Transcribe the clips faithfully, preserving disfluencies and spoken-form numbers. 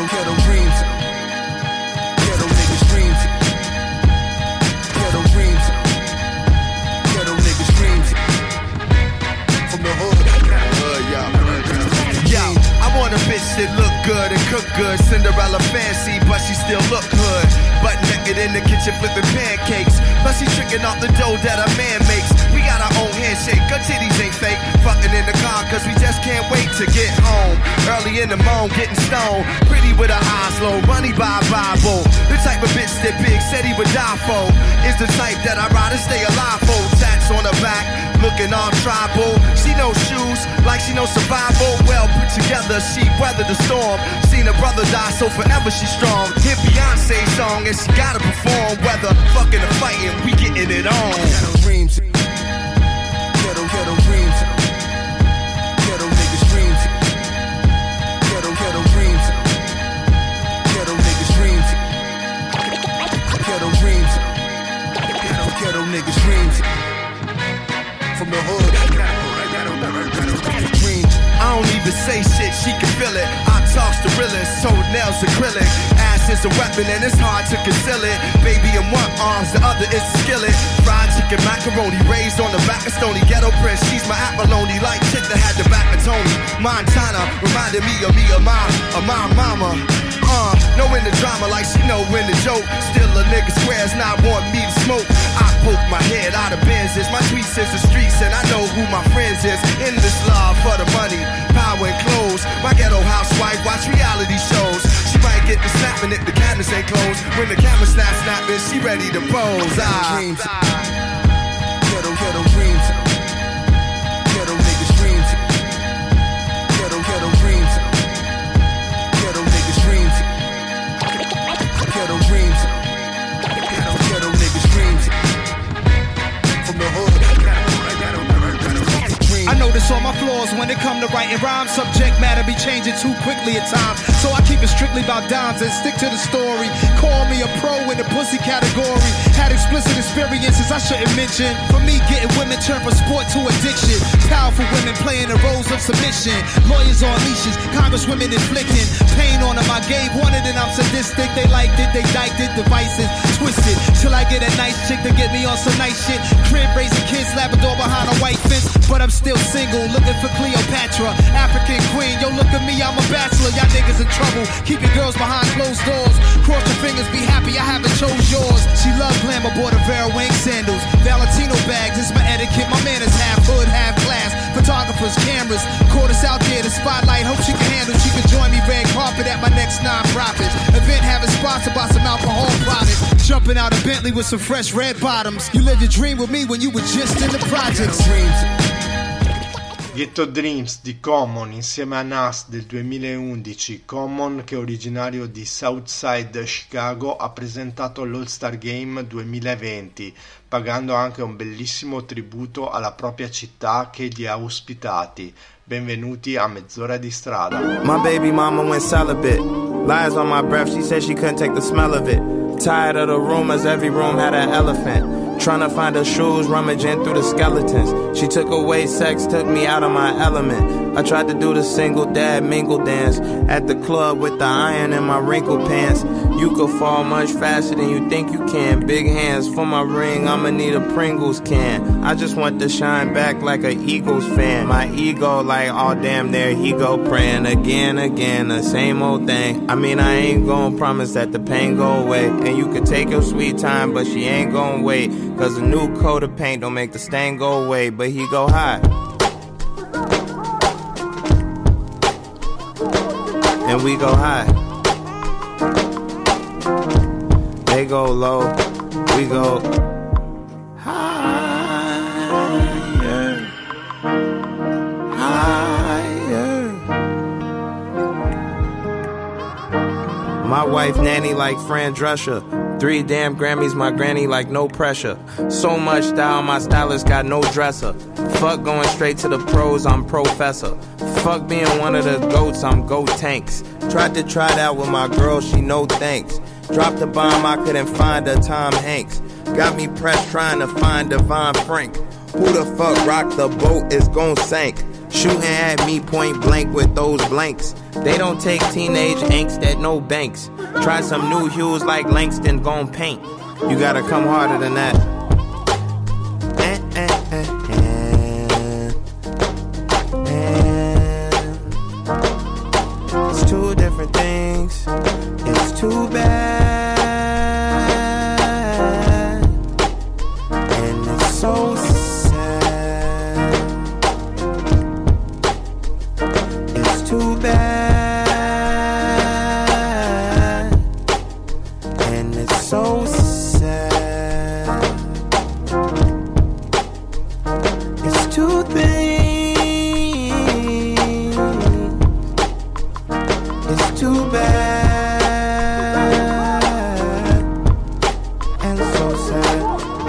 ghetto dreams. Ghetto niggas dreams. Ghetto dreams. Ghetto niggas dreams. From the hood. Hood, y'all. Yo, I want a bitch that look good and cook good. Cinderella fancy, but she still look hood. Butt naked in the kitchen flipping pancakes. Plus she tricking off the dough that a man makes. We got our own handshake, her titties ain't fake. Fucking in the car cause we just can't wait to get home. Early in the morning, getting stoned. Pretty with her eyes low, money by Bible. The type of bitch that Big said he would die for. Is the type that I'd rather stay alive for. Tats on her back, looking all tribal. She knows shoes, like she knows survival. Well put together, she weathered the storm. Seen her brother die, so forever she's strong. Hit Beyonce's song and she gotta perform. Whether fucking or fighting, we getting it on. Ghetto dreams. Ghetto, ghetto dreams. Ghetto niggas dreams. Ghetto, ghetto dreams. Ghetto niggas dreams. Ghetto dreams. Ghetto, ghetto niggas dreams. From the hood. I don't even say shit, she can feel it. I talk to realist, toenails acrylic. Ass is a weapon and it's hard to conceal it. Baby in one arms, the other is a skillet. Fried chicken macaroni, raised on the back of Stony. Ghetto Prince, she's my abalone. Like chick that had the back of Tony. Montana, reminded me of me, of my, of my mama. Uh, knowing the drama like she know when the joke. Still a nigga swears not want me to smoke. I poke my head out of Benzes. My tweets is the streets and I know who my friends is. In this love for the money, power and clothes. My ghetto housewife watch reality shows. She might get the snapping if the cabinets ain't closed. When the camera snap snapping, she ready to pose. Ah. Dreams. Ghetto, ghetto dreams. Ghetto niggas dreams. Ghetto, ghetto dreams. Ghetto niggas dreams. Ghetto dreams. Ghetto, ghetto niggas dreams. From the hood. I notice all my flaws when it come to writing rhymes. Subject matter be changing too quickly at times. So I keep it strictly about dimes and stick to the story. Call me a pro in the pussy category. Had explicit experiences I shouldn't mention. For me, getting women turned from sport to addiction. Powerful women playing the roles of submission. Lawyers on leashes, congresswomen inflicting pain on them. I gave one it and I'm sadistic. They liked it, they diked it, devices twisted. Till I get a nice chick to get me on some nice shit. Crib raising kids, Labrador behind a white fence. But I'm still single, looking for Cleopatra, African queen. Yo, look at me, I'm a bachelor. Y'all niggas in trouble. Keep your girls behind closed doors. Cross your fingers, be happy I haven't chose yours. She love glamour, bought a Vera Wang sandals, Valentino bags. It's my etiquette. My man is half hood, half class. Photographers, cameras, caught us out there. The spotlight, hope she can handle. She can join me red carpet at my next non-profit event, having sponsored by some alcohol products. Jumping out of Bentley with some fresh red bottoms. You lived your dream with me when you were just in the projects. Ghetto Dreams di Common insieme a Nas del duemilaundici. Common, che è originario di Southside Chicago, ha presentato l'All-Star Game duemilaventi, pagando anche un bellissimo tributo alla propria città che li ha ospitati. Benvenuti a Mezz'ora di strada. My baby mama went celibate. Lies on my breath, she said she couldn't take the smell of it. Tired of the rumors, every room had an elephant. Tryna find her shoes, rummaging through the skeletons. She took away sex, took me out of my element. I tried to do the single dad mingle dance at the club with the iron in my wrinkled pants. You could fall much faster than you think you can. Big hands for my ring, I'ma need a Pringles can. I just want to shine back like a Eagles fan. My ego like, oh damn, there he go praying again, again, the same old thing. I mean, I ain't gonna promise that the pain go away. And you could take your sweet time, but she ain't gonna wait. Cause a new coat of paint don't make the stain go away. But he go high and we go high. They go low, we go higher, higher. My wife nanny like Fran Drescher. Three damn Grammys, my granny like no pressure. So much style, my stylist got no dresser. Fuck going straight to the pros, I'm professor. Fuck being one of the goats, I'm Goat Tanks. Tried to try that with my girl, she no thanks. Dropped a bomb, I couldn't find a Tom Hanks. Got me pressed trying to find Devon Frank. Who the fuck rocked the boat is gon' sink. Shooting at me point blank with those blanks. They don't take teenage angst at no banks. Try some new hues like Langston gon' paint. You gotta come harder than that. Eh, eh, eh, eh. Eh. It's two different things. It's too bad. And it's so sad. It's too bad. And it's so sad. It's two things. It's too bad. And so sad.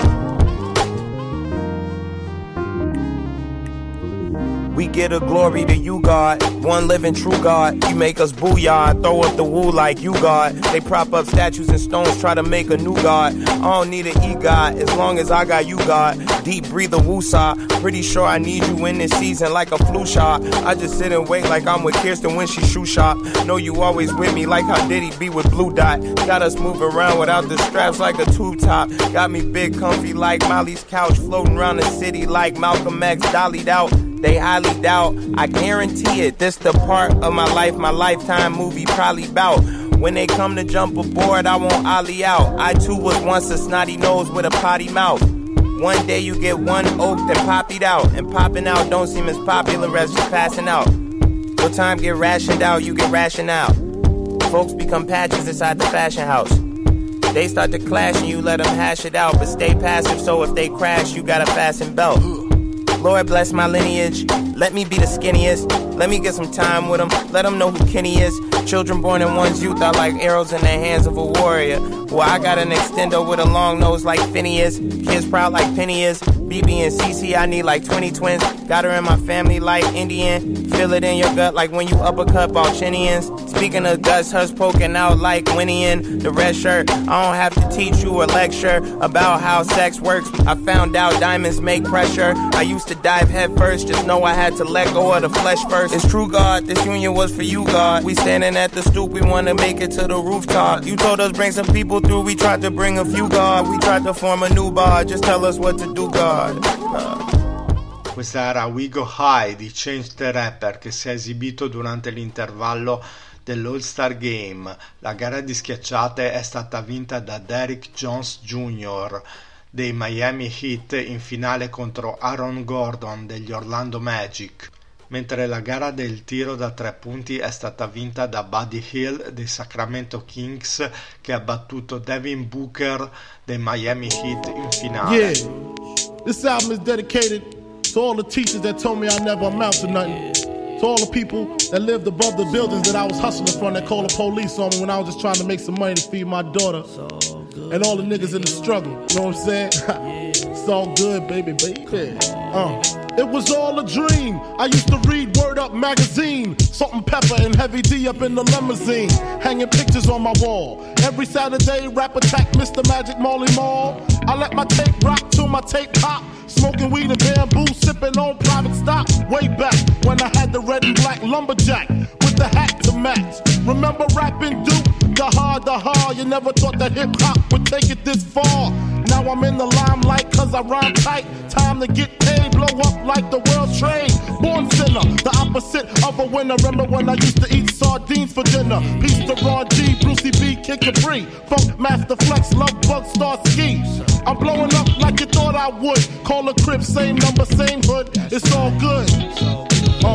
We get a glory to you, God. One living true God. You make us booyah. Throw up the woo like you, God. They prop up statues and stones, try to make a new God. I don't need an e-God as long as I got you, God. Deep breather woosah. Pretty sure I need you in this season like a flu shot. I just sit and wait like I'm with Kirsten when she shoe shop. Know you always with me like how Diddy be with Blue Dot. Got us moving around without the straps like a tube top. Got me big comfy like Molly's couch. Floating around the city like Malcolm X dollied out. They highly doubt, I guarantee it. This the part of my life, my lifetime movie probably bout. When they come to jump aboard, I won't ollie out. I too was once a snotty nose with a potty mouth. One day you get one oaked and poppied out. And popping out don't seem as popular as just passing out. Your time get rationed out, you get rationed out. Folks become patches inside the fashion house. They start to clash and you let them hash it out. But stay passive, so if they crash, you got a fasten belt. Lord bless my lineage, let me be the skinniest. Let me get some time with them, let them know who Kenny is. Children born in one's youth are like arrows in the hands of a warrior. Well, I got an extender with a long nose like Phineas. Kids proud like Penny is. B B and C C, I need like twenty twins. Got her in my family like Indian. Feel it in your gut like when you uppercut Balchinians. Speaking of guts, hers poking out like Winnie in the red shirt. I don't have to teach you a lecture about how sex works. I found out diamonds make pressure. I used to dive head first, just know I had to let go of the flesh first. It's true, God, this union was for you, God. We standing at the stoop, we wanna make it to the rooftop. You told us bring some people through, we tried to bring a few, God. We tried to form a new bar, just tell us what to do, God. Uh. Questa era We Go High di Change the Rapper, che si è esibito durante l'intervallo dell'All-Star Game. La gara di schiacciate è stata vinta da Derrick Jones Junior dei Miami Heat in finale contro Aaron Gordon degli Orlando Magic, mentre la gara del tiro da tre punti è stata vinta da Buddy Hield dei Sacramento Kings, che ha battuto Devin Booker dei Miami Heat in finale. Yeah, this album is dedicated to all the teachers that told me I never amount to nothing. To all the people that lived above the buildings that I was hustling from, that called the police on me when I was just trying to make some money to feed my daughter. And all the niggas in the struggle, you know what I'm saying? It's all good, baby, baby. Uh. It was all a dream. I used to read Word Up magazine, Salt and Pepper and Heavy D up in the limousine, hanging pictures on my wall. Every Saturday, rap attack Mister Magic Marley Marl. I let my tape rock till my tape pop. Smoking weed and bamboo, sipping on private stock. Way back when I had the red and black lumberjack with the hat to match. Remember rapping Duke? The hard, the hard. You never thought that hip hop would take it this far. Now I'm in the limelight cause I rhyme tight. Time to get paid, blow up like the world's trade. Born sinner, the opposite of a winner. Remember when I used to eat sardines for dinner? Peace to Ron G, Brucey B, Kid Capri, Funk Master Flex, Love Bug, Star Ski. I'm blowing up like you thought I would. Call a crib, same number, same hood. It's all good. Uh.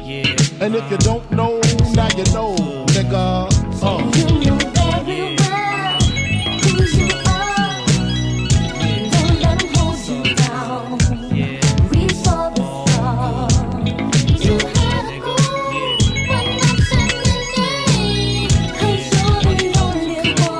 And if you don't know, now you know, nigga. Uh.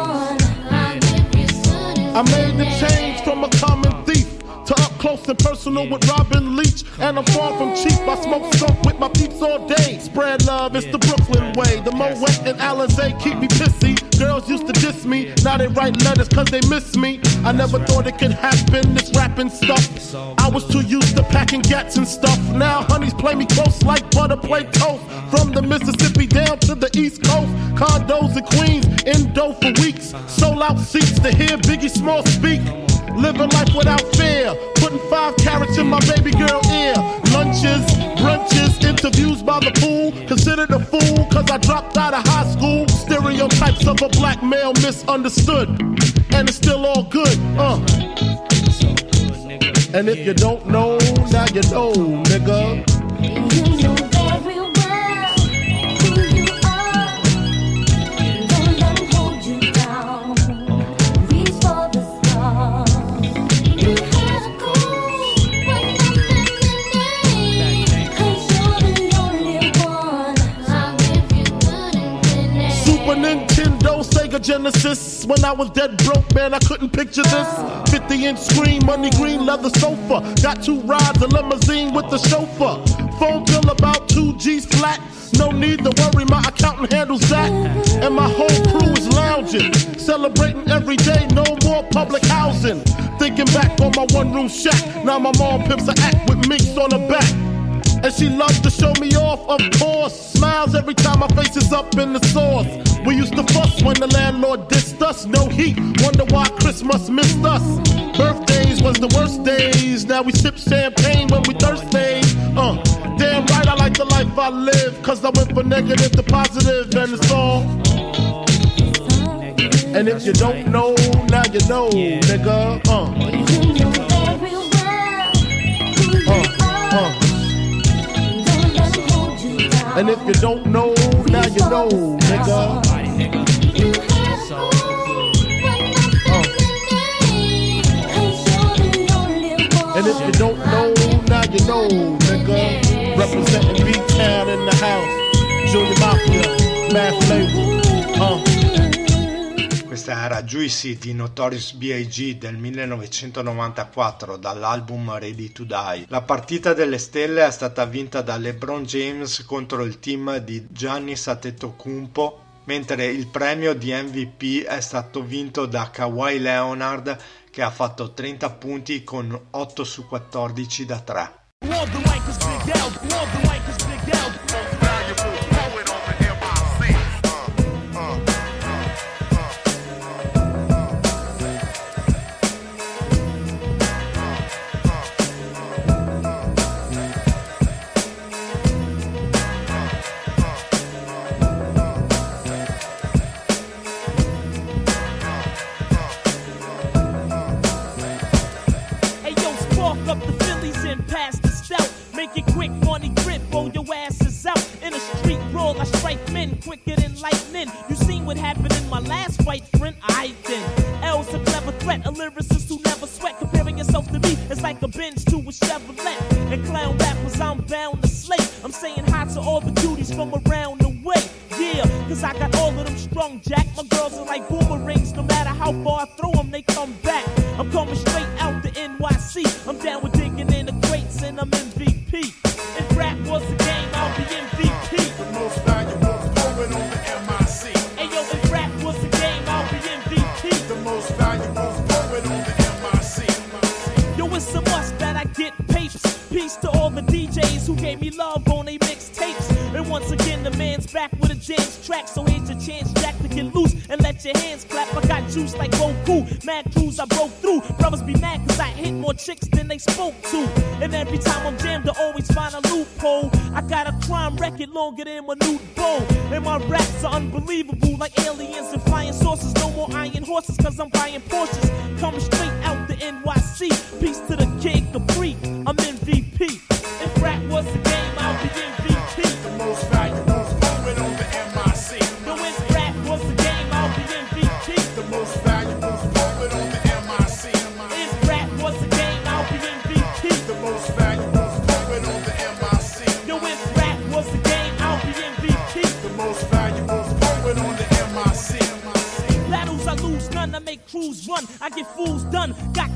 I made the change from a common thief to up close and personal Arsenal with Robin Leach, and I'm far from cheap. I smoke skunk with my peeps all day. Spread love, it's the Brooklyn way. The Moet and Alizé keep me pissy. Girls used to diss me, now they write letters cause they miss me. I never thought it could happen, this rapping stuff. I was too used to packing gats and stuff. Now honeys play me close like butter play toast. From the Mississippi down to the East Coast, condos in Queens, indo for weeks. Sold out seats to hear Biggie Small speak. Living life without fear, putting five carats in my baby girl ear. Lunches, brunches, interviews by the pool. Considered a fool cause I dropped out of high school. Stereotypes of a black male misunderstood, and it's still all good, uh. And if you don't know, now you know, nigga. You know very well who you are. Don't let them hold you down. Reach for the stars. You have to go when nothing remains. Cause you're the only one. I'll give you good and Super Nintendo, Sega Genesis. When I was dead broke, man, I couldn't picture this. fifty inch screen, money green, leather sofa. Got two rides, a limousine with the chauffeur. Phone bill about two G's flat. No need to worry, my accountant handles that. And my whole crew is lounging, celebrating every day, no more public housing. Thinking back on my one room shack. Now my mom pimps an act with minks on her back. And she loves to show me off, of course. Smiles every time my face is up in the sauce. We used to fuss when the landlord dissed us. No heat, wonder why Christmas missed us. Birthdays was the worst days. Now we sip champagne when we thirsty. Uh, damn right I like the life I live. Cause I went from negative to positive and it's all. And if you don't know, now you know, nigga. Uh, you know very well who you uh, are. uh. Don't let them hold you down. And if you don't know, now you know, nigga. You have to when nothing remains. Cause you're the only one. And if you don't know, now you know, nigga. Representing B-Town in the house. Junior Mafia, Math Label. Uh. Questa era Juicy di Notorious B I G del millenovecentonovantaquattro dall'album Ready to Die. La partita delle stelle è stata vinta da LeBron James contro il team di Giannis Antetokounmpo, mentre il premio di M V P è stato vinto da Kawhi Leonard, che ha fatto trenta punti con otto su quattordici da tre. Quicker than lightning. You seen what happened in my last fight, friend? I then. L's a clever threat, a lyricist who never sweat. Comparing yourself to me is like a Benz to a Chevrolet. And clown rappers, I'm bound to slay. I'm saying hi to all the duties from around the way. Yeah, cause I got all of them strung, Jack. My girls are like boomerangs. No matter how far I throw them, they come back. I'm coming straight out the N Y C. I'm down with digging in the crates and I'm M V P. If rap was a game, I'll be M V P. The most valuable poet on the M I C. Hey yo, if rap was a game, I'll be M V P. The most valuable poet on the M I C. Yo, it's a must that I get papes. Peace to all the D Js who gave me love on they mixtapes. And once again, the man's back with a jams track. So here's your chance, Jack, to get loose and let your hands clap. I got juice like Goku. Mad crews I broke through. Brothers be mad cause I hit more chicks than they spoke to. And every time I'm jammed, I always find a loophole. I got a crime record longer than my nude bow. And my raps are unbelievable like aliens and flying saucers. No more iron horses cause I'm buying Porsches. Coming straight out the N Y C. Peace to the Kid Capri. I'm M V P. If rap was a game, I'll be M V P. The most valuable poet on the M I C. No, if rap was a game, I'll be M V P. The most valuable poet on the M I C. If rap was a game, I'll be M V P. The most valuable poet on the M I C. Yo, if rap was a game, I'll be M V P. The most valuable poet on the M I C. Battles I lose none, I make crews run. I get fools done. Got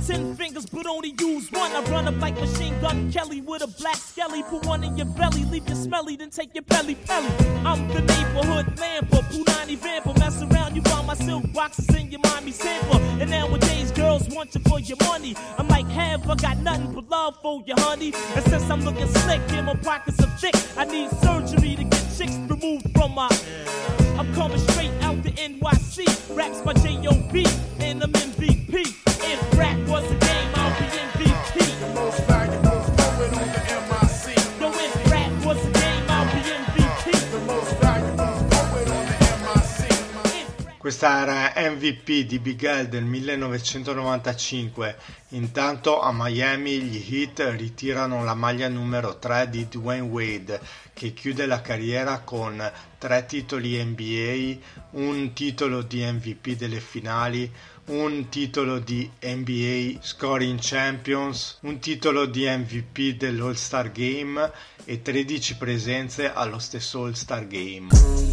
ten fingers, but only use one. I run up like Machine Gun Kelly with a black skelly. Put one in your belly, leave you smelly, then take your pelly pelly. I'm the neighborhood lamper, Punani vamper. Mess around, you find my silk boxes in your mommy sample. And nowadays, girls want you for your money. I'm like, have I got nothing but love for you, honey? And since I'm looking slick and my pockets are thick, I need surgery to get chicks removed from my. I'm coming straight out the N Y C. Raps my J O B and I'm M V P. If rap was a game, I'll be M V P. The most valuable poet on the M I C. Yo, if rap was a game, I'll be M V P. The most valuable poet on the M I C. Questa era M V P di Big L del millenovecentonovantacinque. Intanto a Miami gli Heat ritirano la maglia numero tre di Dwayne Wade, che chiude la carriera con tre titoli N B A, un titolo di M V P delle finali, un titolo di N B A Scoring Champions, un titolo di M V P dell'All-Star Game e tredici presenze allo stesso All-Star Game.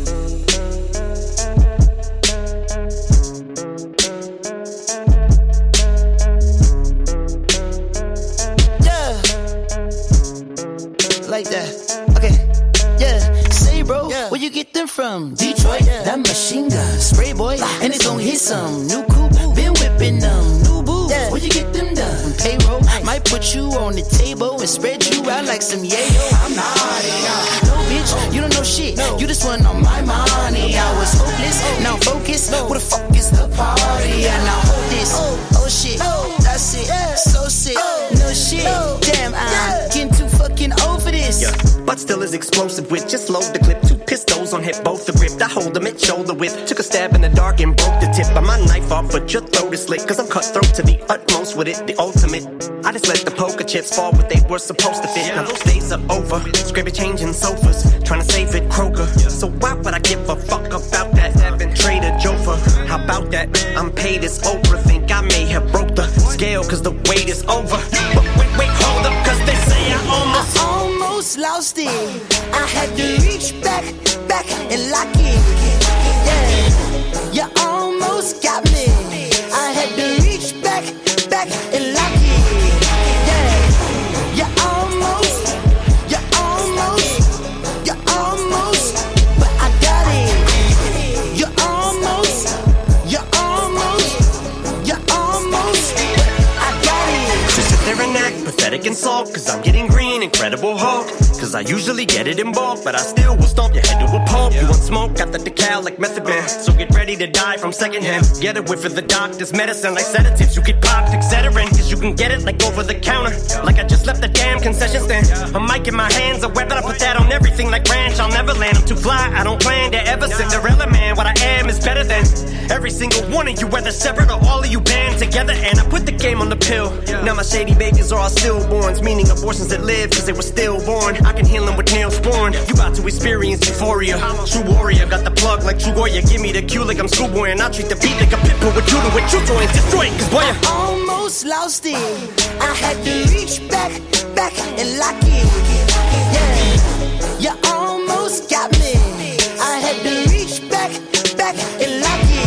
Like that, okay, yeah. Say, bro, yeah. Where you get them from? Detroit, yeah. That machine gun, spray boy, and it's gon' hit some. New coupe, been whipping them. New boots, yeah. Where you get them done? Payroll, might put you on the table and spread you out like some yayo. I'm not out. No, bitch, you don't know shit. No. You just want on my money. I was hopeless, now focus. No. Where the fuck is the party? Yeah, now hold this. Oh, oh shit, oh. That's it. Yeah. So sick, oh. No shit. Oh. Damn, I'm yeah. getting too fucking old for this. Yeah. But still is explosive with just load the clip. Two pistols on hip, both are gripped. I hold them at shoulder width. Took a stab in the dark and broke the tip of my knife off, but your throat is slit. Cause I'm cutthroat to the utmost with it, the ultimate. I just let the poker chips fall what they were supposed to fit. Now those days are over. Scrape it, changing sofas, trying to save it, Kroger. So why would I give a fuck about that? Having Trader Joe for how about that? I'm paid as Oprah. Think I may have broke the scale cause the wait is over. But wait, wait, hold up, cause they say I almost I almost lost it. I had to reach back, back and lock it. Yeah, you almost got me. I had to reach back, back and lock it. Yeah, you almost, you almost, you almost, but I got it. You almost, you almost, you almost, but I got it. Just sit there and act pathetic and sulk, cause I'm getting green, Incredible Hulk. Cause I usually get it in bulk, but I still will stomp your head to a pulp. Yeah. You want smoke? Got the decal like method man. So get ready to die from secondhand. Get a whiff of the doctor's medicine like sedatives. You get popped, et cetera. Cause you can get it like over the counter. Like I just left the damn concession stand. A mic in my hands, a weapon. I put that on everything like ranch. I'll never land. I'm too fly. I don't plan to ever Cinderella man. What I am is better than every single one of you, whether separate or all of you band together. And I put the game on the pill. Now my shady babies are all stillborns, meaning abortions that live cause they were stillborn. I can heal them with nails born. You about to experience euphoria. True warrior, got the plug like True Goya. Give me the cue like I'm schoolboy, and I'll treat the beat like a pit bull with you to with true joy and destroy it. Cause boy, I almost lost it. I had to reach back, back and lock it. Yeah, you almost got me. I had to reach back, back and lock it.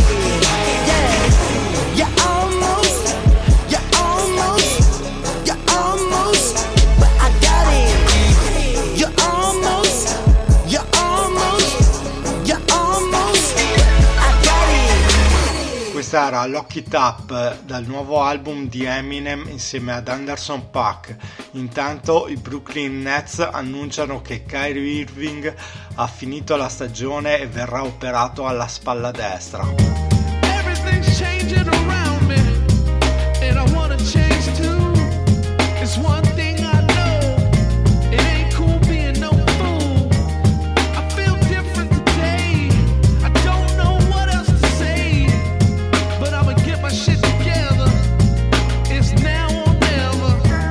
Yeah, you almost, you almost, you almost, but I got it. You almost, you almost, you almost, but I got it. Questa era Lock It Up dal nuovo album di Eminem insieme ad Anderson .Paak. Intanto i Brooklyn Nets annunciano che Kyrie Irving ha finito la stagione e verrà operato alla spalla destra. Everything's changing around me, and I wanna change too. It's one thing I know, it ain't cool being no fool. I feel different today, I don't know what else to say, but I'ma get my shit together. It's now or never.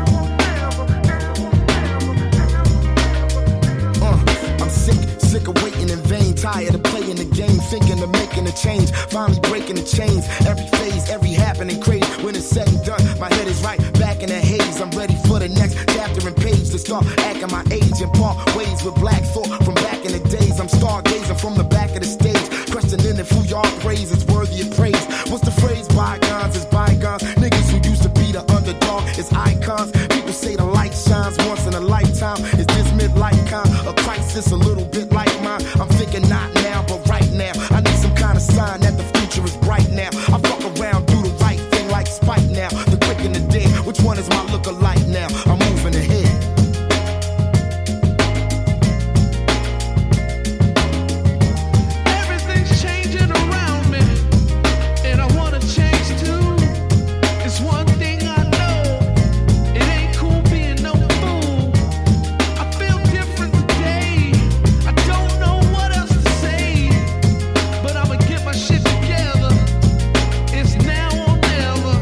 Uh, I'm sick, sick of waiting in vain, tired of playing the game, thinking of making a change, finally breaking the chains. Every phase, every happening crazy. When it's said and done, my head is right back in the haze. I'm ready for the next chapter and page to start acting my age and part ways with black thought from back in the days. I'm stargazing from the back of the stage, questioning if who y'all praise is worthy of praise. What's the phrase? Bygones is bygones. Niggas who used to be the happens once in a lifetime. Is this midlife kind? A crisis a little bit like mine? I'm thinking not now, but right now. I need some kind of sign that the future is bright now. I fuck around, do the right thing like Spike now. The quick and the dead, which one is my look-alike now? I'm moving ahead. Everything's changing around me, and I wanna change too. It's one thing I know, it ain't cool being no fool. I feel different today, I don't know what else to say, but I'ma get my shit together. It's now or never.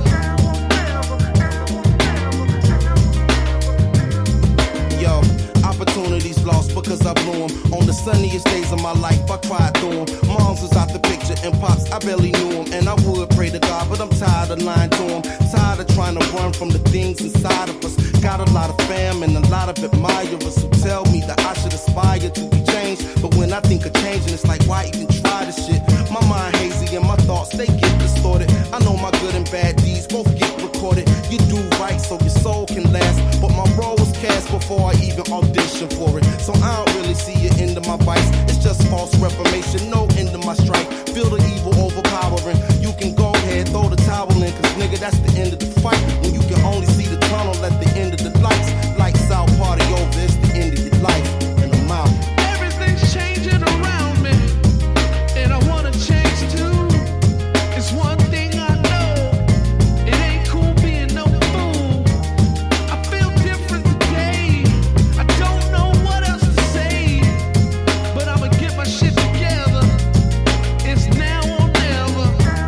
Yo, opportunities lost because I blew them. On the sunniest days of my life, I cried through them. Moms was out the picture and pops, I barely knew them. And I would pray to God, but I'm tired of lying to him. Tired of trying to run from the things inside of us. Got a lot of fam and a lot of admirers who tell me that I should aspire to be changed. But when I think of changing, it's like, why even try this shit? My mind hazy and my thoughts, they get distorted. I know my good and bad deeds both get recorded. You do right so your soul can last, but my role was cast before I even auditioned for it. So I don't really see the end of my vice. It's just false reformation, no end of my strife. Feel the evil overpowering. You can go ahead, throw the towel in, cause nigga, that's the end of the fight. When you can only see the tunnel at the end of the lights. Lights out, party over, it's the end of your life. And I'm out. Everything's changing around me, and I wanna change too. It's one thing I know, it ain't cool being no fool. I feel different today, I don't know what else to say, but I'ma get my shit together. It's now or never.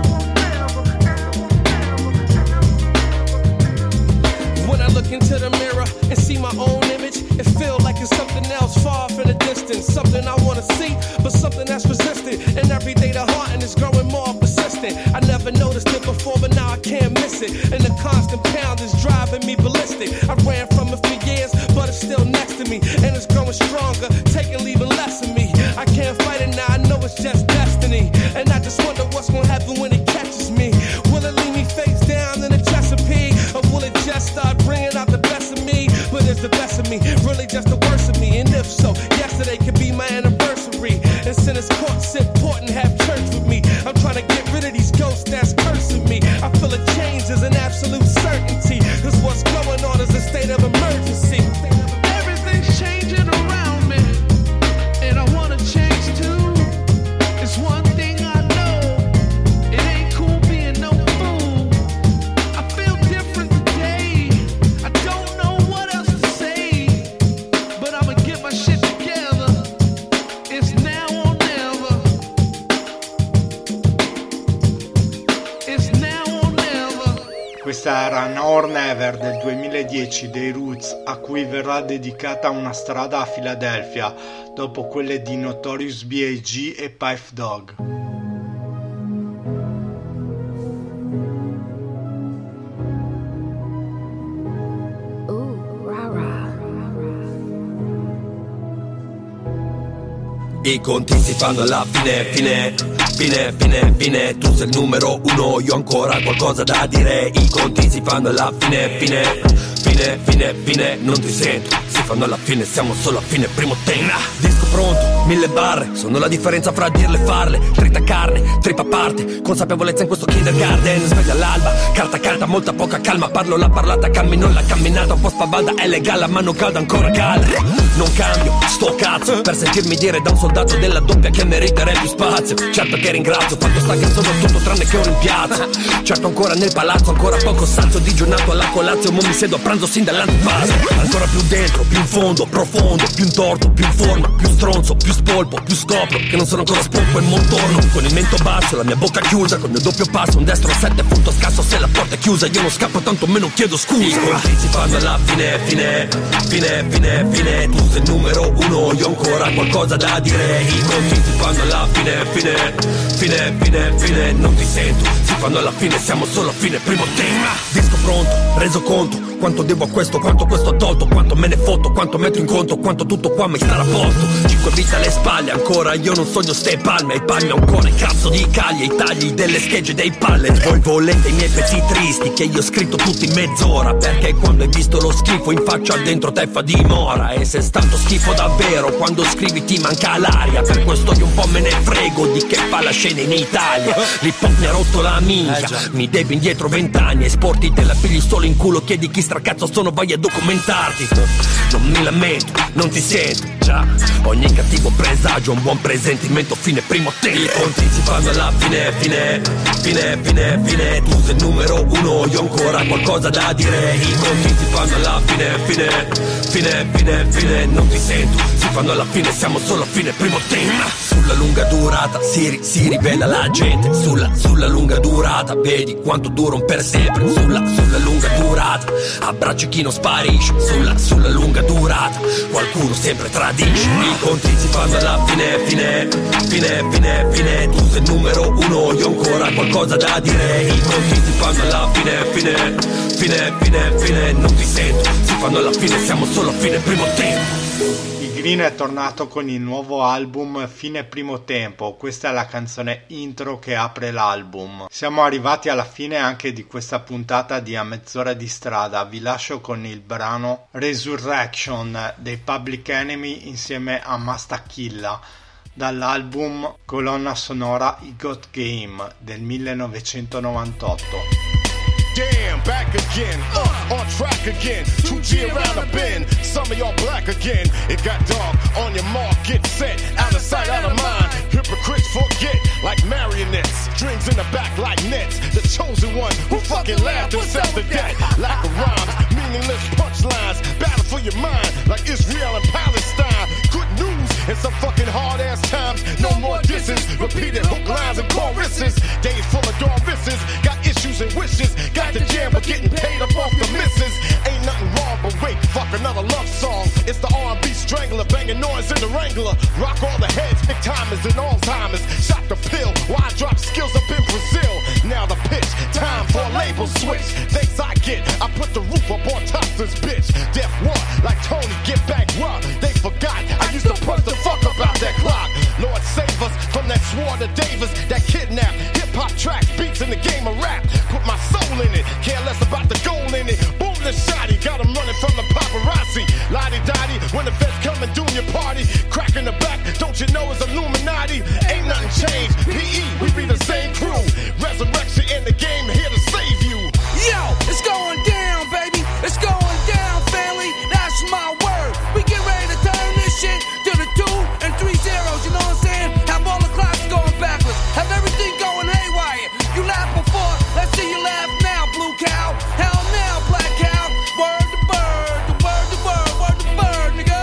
When I look into the mirror and see my own image, it feels like it's something else far off in the distance. Something I wanna see, but something that's resistant. And every day the haunting is growing more persistent. I never noticed it before, but now I can't miss it. And the constant pound is driving me ballistic. I ran from it for years, but it's still next to me. And it's growing stronger, taking, leaving less of me. I can't fight it now, I know it's just destiny. And I just wonder what's gonna happen when it catches me. Will it leave me face down in the Chesapeake? Or will it just start bringing out the best of me? But is the best of me really just the worst of me? And if so, yesterday could be my anniversary. And since it's court, sit important, have church with me. I'm trying to get rid of these ghosts that's cursing me. I feel a change is an absolute certainty, cause what's going on is a state of emergency. Everything's changing around me, and I wanna change too. It's one thing I know, it ain't cool being no fool. I feel different today, I don't know what else to say, but I'ma get my shit together. It's now or never. It's now or never. Questa era Now Never del duemiladieci dei Roots, a cui verrà dedicata una strada a Filadelfia, dopo quelle di Notorious B I G e Phife Dawg. I conti si fanno alla fine, fine, fine, fine, fine. Tu sei il numero uno, io ancora qualcosa da dire. I conti si fanno alla fine, fine, fine, fine, fine. Non ti sento, si fanno alla fine, siamo solo a fine primo tema. Disco pronto, mille barre, sono la differenza fra dirle e farle. Trita carne, trippa parte, consapevolezza in questo kindergarten. Sveglia all'alba, carta calda, molta poca calma. Parlo la parlata, cammino la camminata. Un po' spavalda, è legale, a mano calda, ancora calda. Non cambio, sto cazzo, per sentirmi dire da un soldato della doppia che meriterei più spazio. Certo che ringrazio, fatto sta che sono tutto tranne che un rimpiazzo. Certo ancora nel palazzo, ancora poco sazio, digiunato alla colazio. Mo mi siedo a pranzo sin dall'antipasto. Ancora più dentro, più in fondo, profondo, più in torto, più in forma, più stronzo, più spolpo, più scopro che non sono ancora spolpo e montorno. Con il mento basso, la mia bocca chiusa, con il mio doppio passo, un destro a sette, punto scasso se la porta è chiusa. Io non scappo, tanto meno chiedo scusa. I conti si fanno alla fine, fine, fine, fine, fine. Tu sei il numero uno, io ancora qualcosa da dire. I conti si fanno alla fine, fine, fine, fine, fine. Non ti sento, si fanno alla fine, siamo solo a fine primo tema. Disco pronto, reso conto, quanto devo a questo, quanto questo ha tolto, quanto me ne fotto, quanto metto in conto, quanto tutto qua mi sta a posto. Cinque vite alle spalle, ancora io non sogno ste palme, ai palmi ancora il cazzo di caglie, i tagli delle schegge dei pallet. Voi volete i miei pezzi tristi che io ho scritto tutti in mezz'ora, perché quando hai visto lo schifo in faccia dentro te fa dimora. E se è stato schifo davvero, quando scrivi ti manca l'aria, per questo io un po' me ne frego di che fa la scena in Italia. L'hip hop mi ha rotto la minchia, mi devi indietro vent'anni, esporti te la pigli solo in culo, chiedi chi stracazzo sono, vai a documentarti. Non mi lamento, non ti sento, già, ogni cattivo presagio un buon presentimento, fine primo tempo. I conti si fanno alla fine, fine, fine, fine, fine, tu sei il numero uno, io ancora qualcosa da dire. I conti si fanno alla fine, fine, fine, fine, fine, non ti sento, si fanno alla fine, siamo solo a fine primo tempo. Sulla lunga durata si, ri, si rivela la gente, sulla, sulla lunga durata vedi quanto dura un per sempre, sulla, sulla lunga durata abbracci chi non sparisce, sulla, sulla lunga durata qualcuno sempre tradisce. I conti si fanno alla fine, fine, fine, fine, fine, tu sei il numero uno, io ancora qualcosa da dire. I conti si fanno alla fine, fine, fine, fine, fine, non ti sento, si fanno alla fine, siamo solo a fine primo tempo. Green è tornato con il nuovo album Fine Primo Tempo, questa è la canzone intro che apre l'album. Siamo arrivati alla fine anche di questa puntata di A Mezz'ora di Strada, vi lascio con il brano Resurrection dei Public Enemy insieme a Mastakilla dall'album colonna sonora I Got Game del millenovecentonovantotto. Damn, back again, uh, on track again, two G around the bend, some of y'all black again. It got dark, on your mark, get set, out of sight, out of mind. Hypocrites forget, like marionettes, strings in the back like nets. The chosen one who fucking laughed himself to death. Lack of rhymes, meaningless punchlines, battle for your mind, like Israel and Palestine. Good news in some fucking hard ass times, no more disses, repeated hook lines and choruses. Days full of Dorises, got issues and wishes, got the jam but getting paid up off the misses. Ain't nothing wrong, but wait, fuck another love song. It's the R and B strangler, banging noise in the Wrangler. Rock all the heads, big timers and all timers. Shot the pill, why drop skills up in Brazil? Now the pitch, time for a label switch. Thanks I get, I put the roof up on top this bitch. Death what? Like Tony, get back raw. They forgot, I used to punch the fuck about that clock. Lord save us from that swore to Davis, that kidnap. Hip-hop tracks, beats in the game of rap. Put my soul in it, care less about the goal in it. Boom the shotty, got him running from the paparazzi. Lottie-dottie, when the vets come and doing your party. Crack in the back, don't you know it's Illuminati? Ain't nothing changed, P E, we be the same crew. Resurrection in the game, here to save you. Yo, it's going down, baby. It's going down, family. That's my word. We get ready to turn this shit to the two and three zeros. You know what I'm saying? Have all the clocks going backwards. Have everything going haywire. You laughed before, let's see you laugh now, blue cow. Hell now, black cow. Word to bird, the word to bird, word to bird, nigga.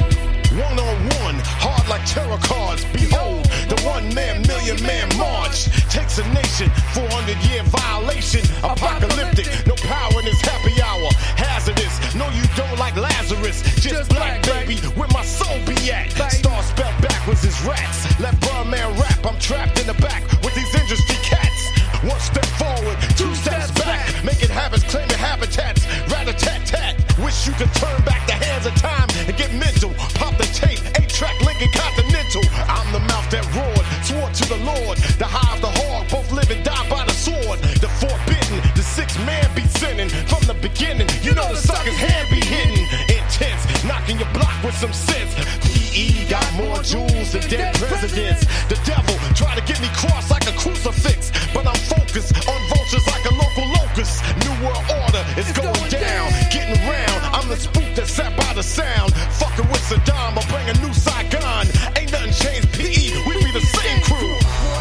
One on one, hard like tarot cards. Behold, the one man, million man march. Takes a nation, four hundred year violation. Apocalyptic, no power in this happy hour. Hazardous, no you don't like Lazarus. Just black, baby, where my soul be at. Star spelled backwards is rats. Let Birdman rap, I'm trapped in the back with these industry cats. One step forward, two steps back. Making habits, claiming habitats. Rat-a-tat-tat. Wish you could turn back the hands of time and get mental. Pop the tape, eight-track Lincoln Continental. I'm the mouth that roared, swore to the Lord. The high of the hog, both live and die by the sword. The forbidden, the six man be sinning. From the beginning, you know the sucker's hand be hidden. Intense, knocking your block with some sense. P E got more jewels than dead presidents. The devil try to get me crossed like a crucifix, but I'm focused on vultures like a local locust. New world order is going down, getting round. I'm the spook that sat by the sound. Fucking with Saddam, I'll bring a new Saigon. Ain't nothing changed, P E, we be the same crew.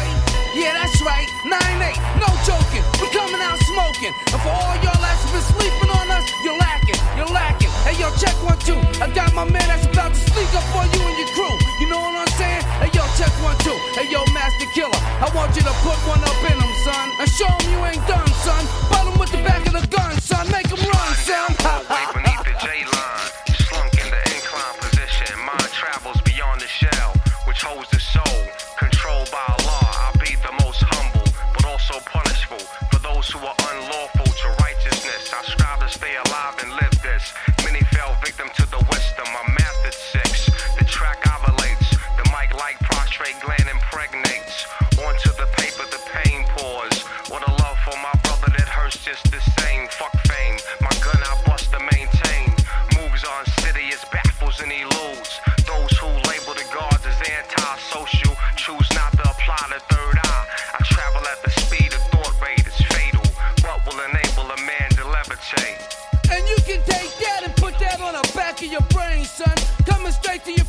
Yeah, that's right, nine eight, no joking. We coming out smoking. And for all y'all that's been sleeping on us, you're lacking, you're lacking. Hey yo, check one, two. I got my man that's about to sneak up on you and your crew. You know what I'm saying? Hey yo, check one, two. Hey yo, Master Killer, I want you to put one up in him, son. And show him you ain't done, son. Butt him with the back of the gun, son. Make him run, son. Beneath the J-line, slunk in the incline position. Mind travels beyond the shell, which holds the soul. Controlled by Allah, I'll be the most humble, but also punishable. For those who are unlawful to righteousness, I strive to stay alive and many lose. Those who label the guards as antisocial choose not to apply the third eye. I travel at the speed of thought rate, it's fatal. What will enable a man to levitate? And you can take that and put that on the back of your brain, son. Coming straight to your